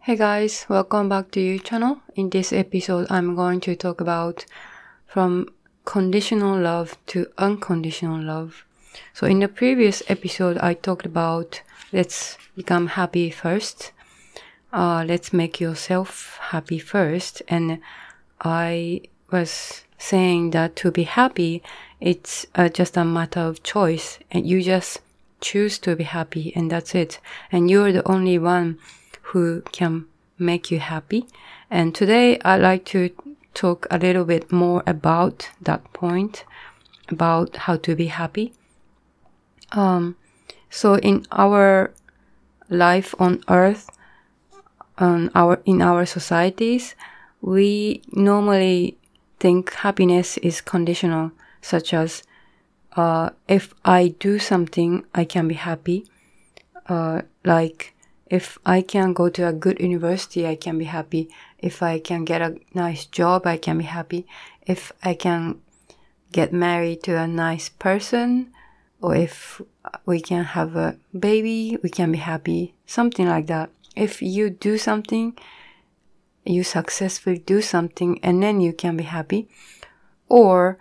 Hey guys, welcome back to your channel. In this episode, I'm going to talk about from conditional love to unconditional love. So in the previous episode, I talked about let's become happy first. Let's make yourself happy first. And I was saying that to be happy, it's just a matter of choice. And you just choose to be happy and that's it. And you're the only one who can make you happy. And today I'd like to talk a little bit more about that point, about how to be happy. So in our life on earth, in our societies, we normally think happiness is conditional, such as if I do something, I can be happy. Like if I can go to a good university, I can be happy. If I can get a nice job, I can be happy. If I can get married to a nice person, or if we can have a baby, we can be happy. Something like that. If you do something, you successfully do something, and then you can be happy. Or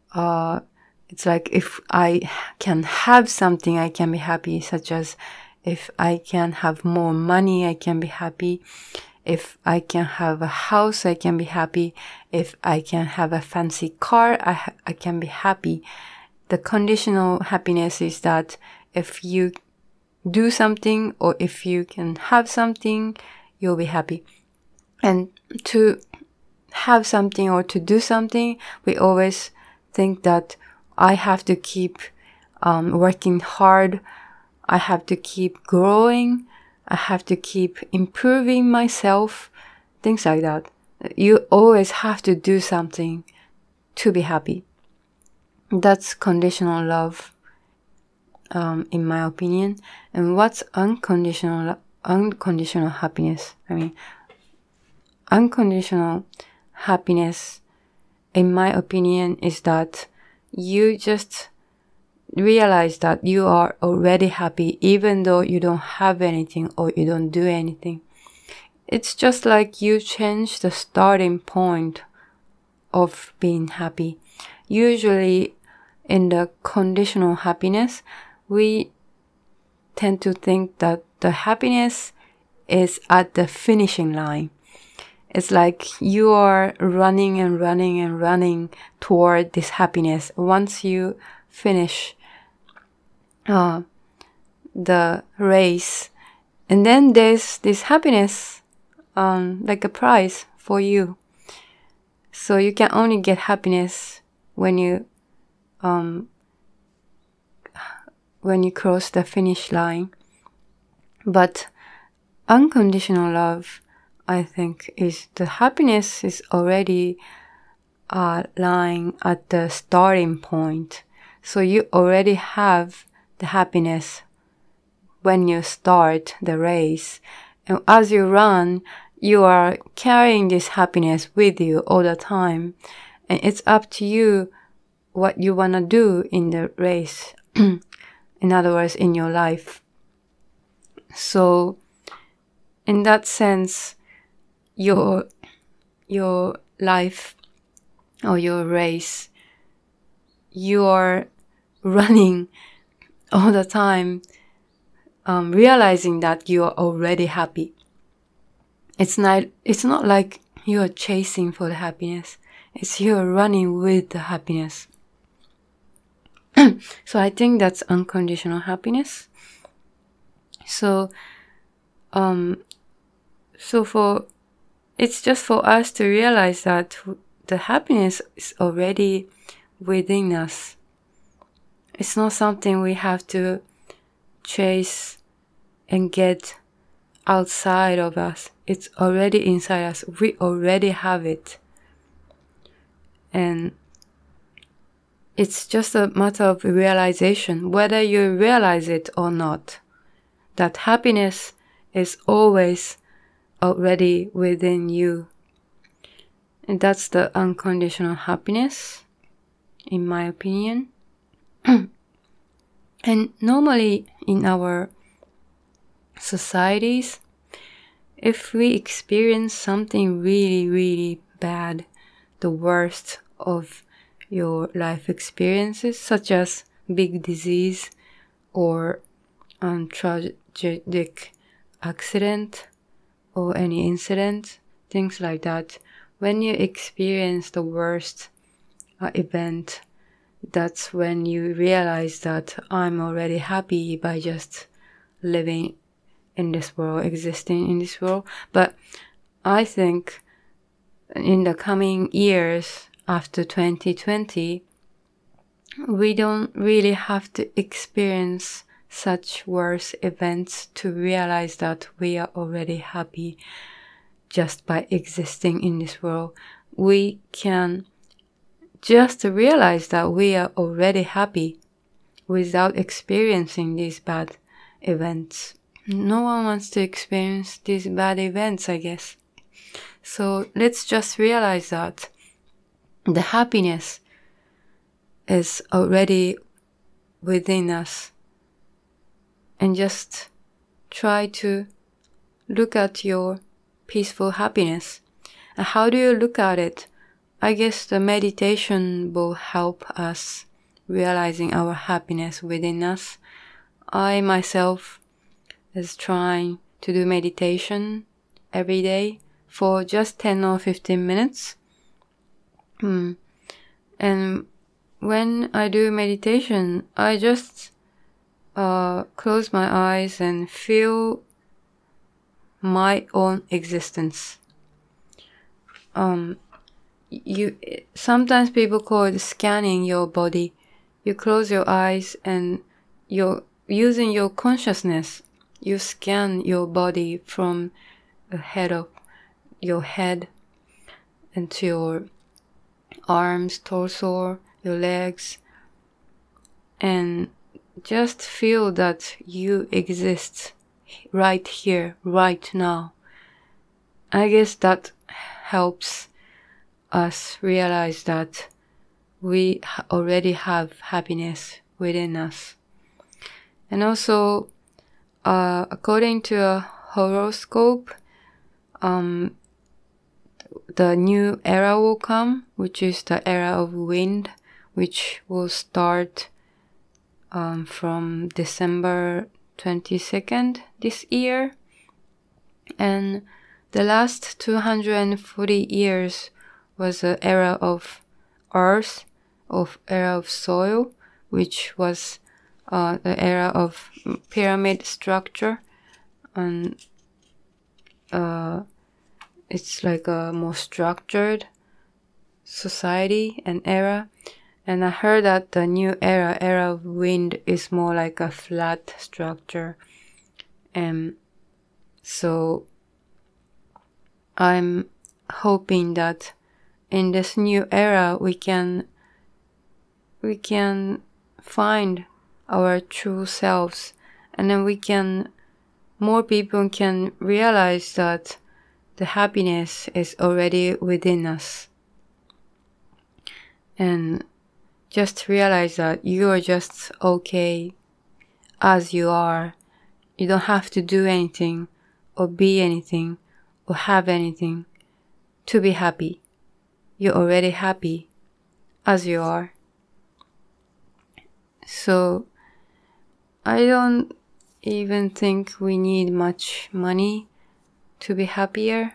it's like if I can have something, I can be happy, such as if I can have more money, I can be happy. If I can have a house, I can be happy. If I can have a fancy car, I can be happy. The conditional happiness is that if you do something or if you can have something, you'll be happy. And to have something or to do something, we always think that I have to keep working hard. I have to keep growing. I have to keep improving myself. Things like that. You always have to do something to be happy. That's conditional love, in my opinion. And what's unconditional happiness? Unconditional happiness, in my opinion, is that you just realize that you are already happy even though you don't have anything or you don't do anything. It's just like you change the starting point of being happy. Usually in the conditional happiness, we tend to think that the happiness is at the finishing line. It's like you are running and running and running toward this happiness. Once you finish the race, and then there's this happiness, like a prize for you. So you can only get happiness when you cross the finish line. But unconditional love, I think, is the happiness is already lying at the starting point. So you already have the happiness when you start the race. And as you run, you are carrying this happiness with you all the time. And it's up to you what you want to do in the race. In other words, in your life. So, in that sense, your life or your race, you are running all the time, realizing that you are already happy. It's not like you are chasing for the happiness. It's you are running with the happiness. So I think that's unconditional happiness. So it's just for us to realize that the happiness is already within us. It's not something we have to chase and get outside of us. It's already inside us. We already have it. And it's just a matter of realization, whether you realize it or not, that happiness is always already within you. And that's the unconditional happiness, in my opinion. And normally in our societies, if we experience something really, really bad, the worst of your life experiences, such as big disease or tragic accident or any incident, things like that, when you experience the worst event, that's when you realize that I'm already happy by just living in this world, existing in this world. But I think in the coming years after 2020, we don't really have to experience such worse events to realize that we are already happy just by existing in this world. We can just realize that we are already happy without experiencing these bad events. No one wants to experience these bad events, I guess. So let's just realize that the happiness is already within us, and just try to look at your peaceful happiness. And how do you look at it? I guess the meditation will help us realizing our happiness within us. I myself is trying to do meditation every day for just 10 or 15 minutes. And when I do meditation, I just close my eyes and feel my own existence. Sometimes people call it scanning your body. You close your eyes and you're using your consciousness. You scan your body from the head of your head into your arms, torso, your legs, and just feel that you exist right here, right now. I guess that helps us realize that we already have happiness within us. And also, according to a horoscope, the new era will come, which is the era of wind, which will start from December 22nd this year. And the last 240 years was the era of earth, era of soil, which was the era of pyramid structure, and it's like a more structured society and era. And I heard that the new era of wind, is more like a flat structure. And so I'm hoping that in this new era we can find our true selves, and then more people can realize that the happiness is already within us. And just realize that you are just okay as you are. You don't have to do anything or be anything or have anything to be happy. You're already happy as you are. So I don't even think we need much money to be happier.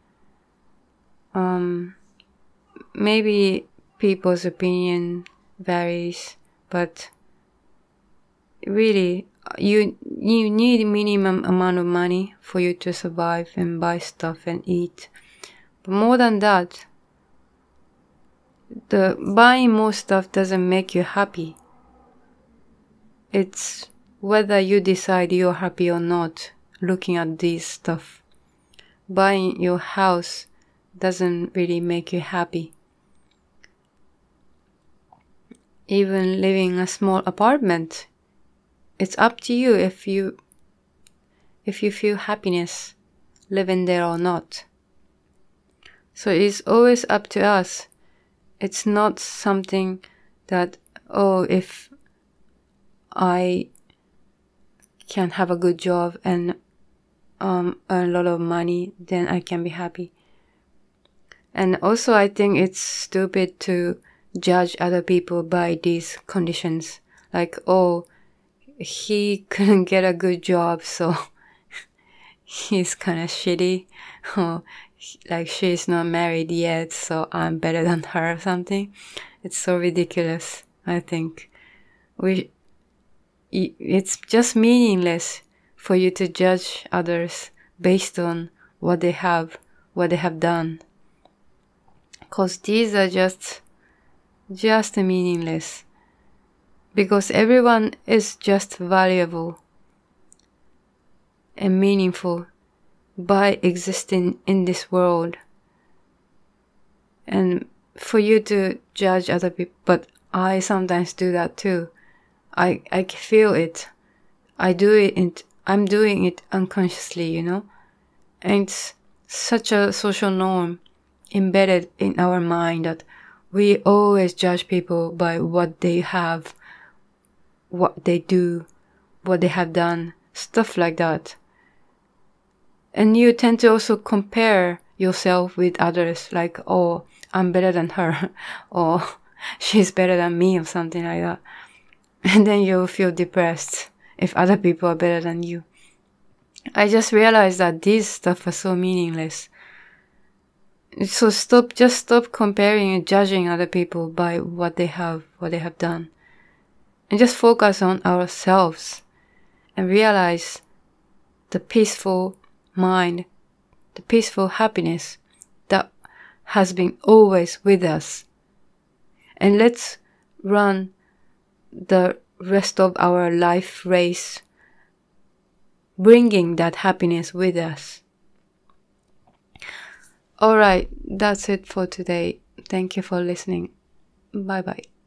Maybe people's opinion varies, but really you need minimum amount of money for you to survive and buy stuff and eat. But more than that, the buying more stuff doesn't make you happy. It's whether you decide you're happy or not looking at these stuff. Buying your house doesn't really make you happy. Even living in a small apartment, it's up to you if you feel happiness living there or not. So it's always up to us. It's not something that, if I can have a good job and earn a lot of money, then I can be happy. And also I think it's stupid to judge other people by these conditions. Like, oh, he couldn't get a good job, so he's kind of shitty. Or like, she's not married yet, so I'm better than her or something. It's so ridiculous, I think. It's just meaningless for you to judge others based on what they have done. Because these are just meaningless. Because everyone is just valuable and meaningful by existing in this world. And for you to judge other people, but I sometimes do that too. I feel it. I'm doing it unconsciously, And it's such a social norm embedded in our mind that we always judge people by what they have, what they do, what they have done, stuff like that. And you tend to also compare yourself with others, like, oh, I'm better than her, or she's better than me, or something like that. And then you feel depressed if other people are better than you. I just realized that these stuff are so meaningless. So stop comparing and judging other people by what they have done. And just focus on ourselves and realize the peaceful mind, the peaceful happiness that has been always with us. And let's run the rest of our life race bringing that happiness with us. Alright, that's it for today. Thank you for listening. Bye bye.